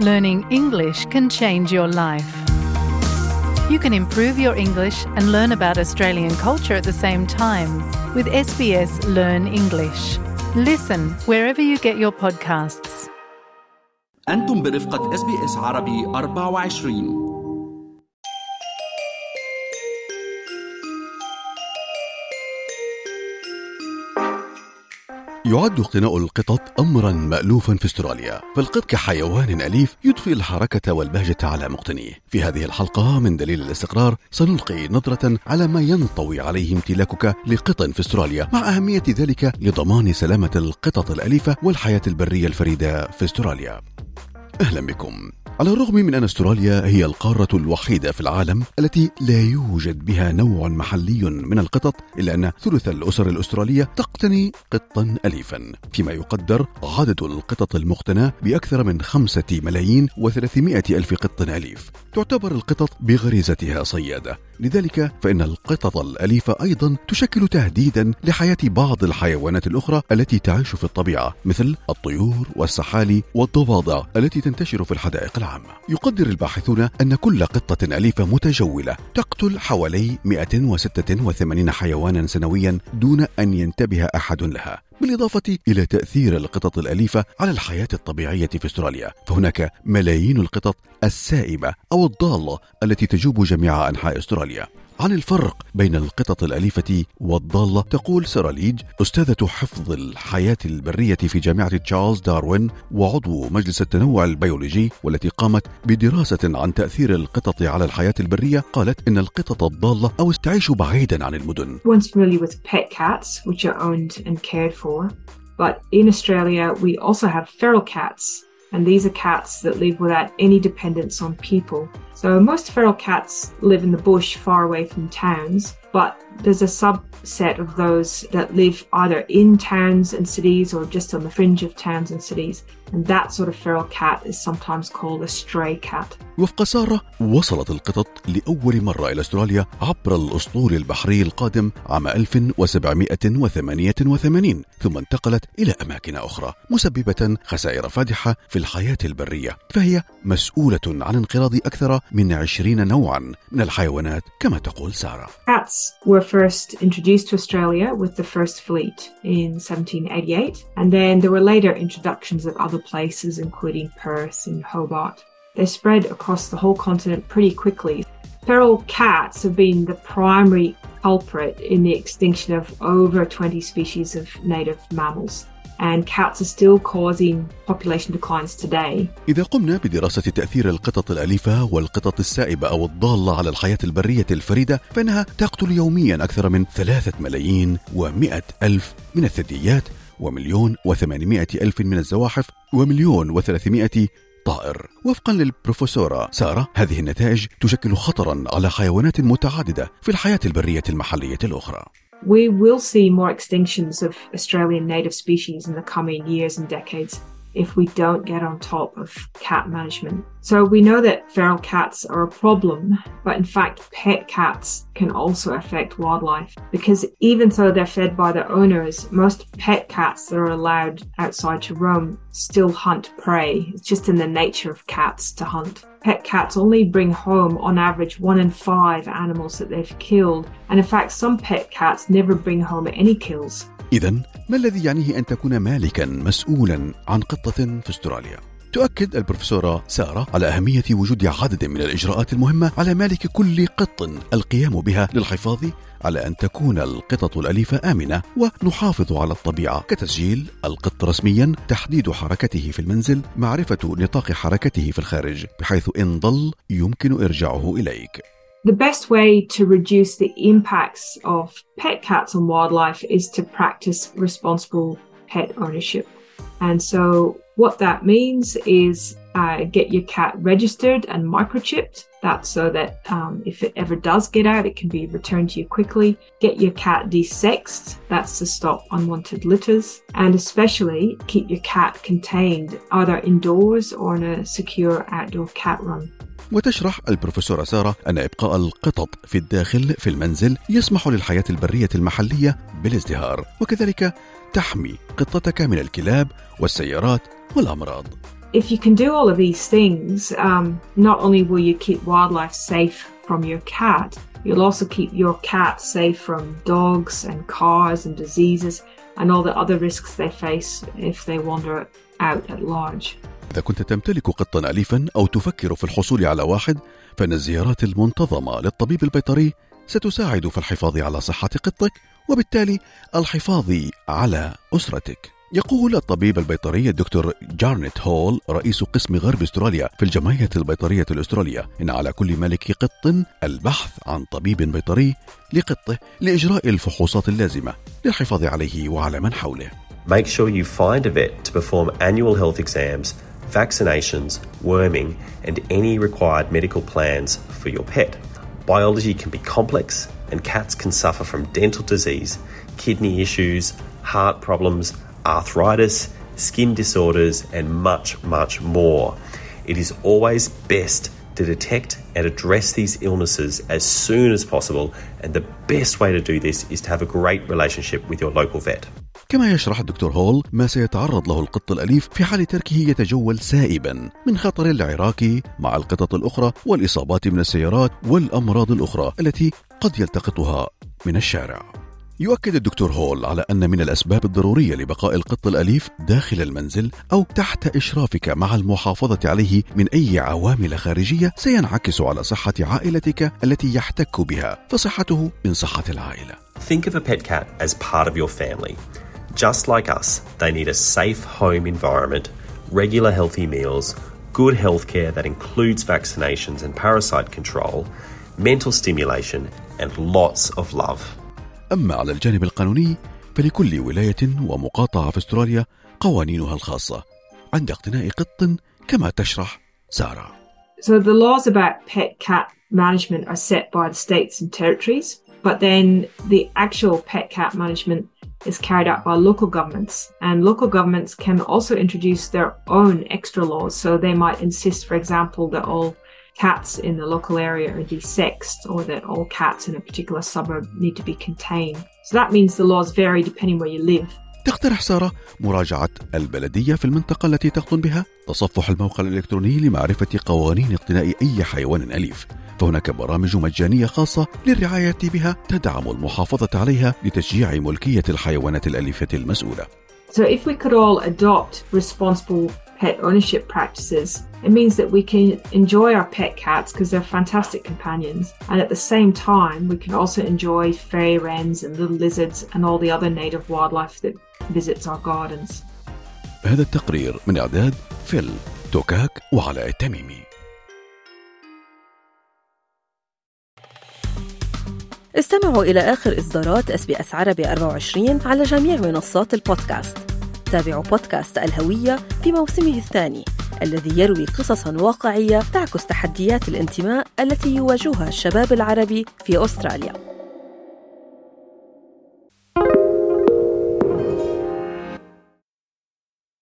Learning English can change your life. You can improve your English and learn about Australian culture at the same time with SBS Learn English. Listen wherever you get your podcasts. أنتم برفقة SBS عربي 24. يعد اقتناء القطط أمرا مألوفا في استراليا، فالقط كحيوان أليف يضفي الحركة والبهجة على مقتنيه. في هذه الحلقة من دليل الاستقرار سنلقي نظرة على ما ينطوي عليه امتلاكك لقط في استراليا، مع أهمية ذلك لضمان سلامة القطط الأليفة والحياة البرية الفريدة في استراليا. أهلا بكم. على الرغم من أن استراليا هي القارة الوحيدة في العالم التي لا يوجد بها نوع محلي من القطط، إلا أن ثلث الأسر الأسترالية تقتني قطا أليفا، فيما يقدر عدد القطط المقتنى بأكثر من 5,300,000 قط أليف. تعتبر القطط بغريزتها صيادة، لذلك فإن القطط الأليفة أيضا تشكل تهديدا لحياة بعض الحيوانات الأخرى التي تعيش في الطبيعة، مثل الطيور والسحالي والضفادع التي تنتشر في الحدائق العامة. يقدر الباحثون أن كل قطة أليفة متجولة تقتل حوالي 186 حيوانا سنويا دون أن ينتبه أحد لها، بالإضافة إلى تأثير القطط الأليفة على الحياة الطبيعية في استراليا. فهناك ملايين القطط السائبة أو الضالة التي تجوب جميع أنحاء استراليا. عن الفرق بين القطط الأليفة والضالة تقول سارة ليج، أستاذة حفظ الحياة البرية في جامعة تشارلز داروين وعضو مجلس التنوع البيولوجي، والتي قامت بدراسة عن تأثير القطط على الحياة البرية. قالت إن القطط الضالة أو تعيش بعيدا عن المدن. Everyone's familiar with pet cats, which are owned and cared for. But in Australia, we also have feral cats. And these are cats that live without any dependence on people. So most feral cats live in the bush far away from towns, but there's a subset of those that live either in towns and cities or just on the fringe of towns and cities. And that sort of feral cat is sometimes called a stray cat. وفق سارة، وصلت القطط لأول مرة إلى أستراليا عبر الأسطول البحري القادم عام 1788، ثم انتقلت إلى أماكن أخرى، مسببة خسائر فادحة في الحياة البرية. فهي مسؤولة عن انقراض أكثر من 20 نوعا من الحيوانات كما تقول سارة. Cats were first introduced to Australia with the first fleet in 1788, and then there were later introductions at other places including Perth and Hobart. They spread across the whole continent pretty quickly. Feral cats have been the primary culprit in the extinction of over 20 species of native mammals. And cats are still causing population declines today. إذا قمنا بدراسة تأثير القطط الأليفة والقطط السائبة أو الضالة على الحياة البرية الفريدة، فإنها تقتل يوميا أكثر من 3,100,000 من الثدييات، و1,800,000 من الزواحف، و1,300,000 طائر. وفقا للبروفيسورة سارة، هذه النتائج تشكل خطرا على حيوانات متعددة في الحياة البرية المحلية الأخرى. We will see more extinctions of Australian native species in the coming years and decades if we don't get on top of cat management. So we know that feral cats are a problem, but in fact pet cats can also affect wildlife, because even though they're fed by their owners, most pet cats that are allowed outside to roam still hunt prey. It's just in the nature of cats to hunt. Pet cats only bring home on average 1 in 5 animals that they've killed, and in fact some pet cats never bring home any kills. إذن ما الذي يعنيه أن تكون مالكا مسؤولا عن قطة في استراليا؟ تؤكد البروفيسورة سارة على أهمية وجود عدد من الإجراءات المهمة على مالك كل قط القيام بها للحفاظ على أن تكون القطط الأليفة آمنة، ونحافظ على الطبيعة، كتسجيل القط رسميا، تحديد حركته في المنزل، معرفة نطاق حركته في الخارج بحيث إن ضل يمكن إرجاعه إليك. The best way to reduce the impacts of pet cats on wildlife is to practice responsible pet ownership. And so what that means is get your cat registered and microchipped. That's so that if it ever does get out, it can be returned to you quickly. Get your cat desexed. That's to stop unwanted litters. And especially keep your cat contained either indoors or in a secure outdoor cat run. وتشرح البروفيسورة سارة أن إبقاء القطط في الداخل في المنزل يسمح للحياة البرية المحلية بالازدهار، وكذلك تحمي قطتك من الكلاب والسيارات والأمراض. if you can do all of these things, not only will you keep wildlife safe from your cat, you'll also keep your cat safe from dogs and cars and diseases and all the other risks they face if they wander out at large. إذا كنت تمتلك قطا أليفا أو تفكر في الحصول على واحد، فإن الزيارات المنتظمة للطبيب البيطري ستساعد في الحفاظ على صحة قطك وبالتالي الحفاظ على أسرتك. يقول الطبيب البيطري الدكتور جارنيت هول رئيس قسم غرب أستراليا في الجمعية البيطرية الأسترالية إن على كل مالك قط البحث عن طبيب بيطري لقطه لإجراء الفحوصات اللازمة للحفاظ عليه وعلى من حوله. Make sure you find a vet to perform annual health exams, vaccinations, worming, and any required medical plans for your pet. Biology can be complex, and cats can suffer from dental disease, kidney issues, heart problems, arthritis, skin disorders, and much, much more. It is always best to detect and address these illnesses as soon as possible, and the best way to do this is to have a great relationship with your local vet. كما يشرح الدكتور هول ما سيتعرض له القط الأليف في حال تركه يتجول سائبا من خطر العراك مع القطط الأخرى والإصابات من السيارات والأمراض الأخرى التي قد يلتقطها من الشارع. يؤكد الدكتور هول على أن من الأسباب الضرورية لبقاء القط الأليف داخل المنزل أو تحت إشرافك مع المحافظة عليه من أي عوامل خارجية سينعكس على صحة عائلتك التي يحتك بها، فصحته من صحة العائلة. Think of a pet cat as part of your family. Just like us, they need a safe home environment, regular healthy meals, good healthcare that includes vaccinations and parasite control, mental stimulation, and lots of love. أما على الجانب القانوني فلكل ولاية ومقاطعة في أستراليا قوانينها الخاصة عند اقتناء قط كما تشرح سارة. So the laws about pet cat management are set by the states and territories, but then the actual pet cat management is carried out by local governments, and local governments can also introduce their own extra laws. So they might insist, for example, that all cats in the local area are desexed, or that all cats in a particular suburb need to be contained. So that means the laws vary depending where you live. تقترح سارة مراجعة البلدية في المنطقة التي تقطن بها، تصفح الموقع الإلكتروني لمعرفة قوانين اقتناء أي حيوان أليف، فهناك برامج مجانية خاصة للرعاية بها تدعم المحافظة عليها لتشجيع ملكية الحيوانات الأليفة المسؤولة. So if we could all adopt responsible pet ownership practices, it means that we can enjoy our pet cats because they're fantastic companions, and at the same time we can also enjoy fairy wrens and little lizards and all the other native wildlife that visits our gardens. هذا التقرير من إعداد فيل توكاك وعلاء التميمي. استمعوا إلى آخر إصدارات SBS عربي 24 على جميع منصات البودكاست. تابعوا بودكاست الهوية في موسمه الثاني الذي يروي قصصاً واقعية تعكس تحديات الانتماء التي يواجهها الشباب العربي في أستراليا.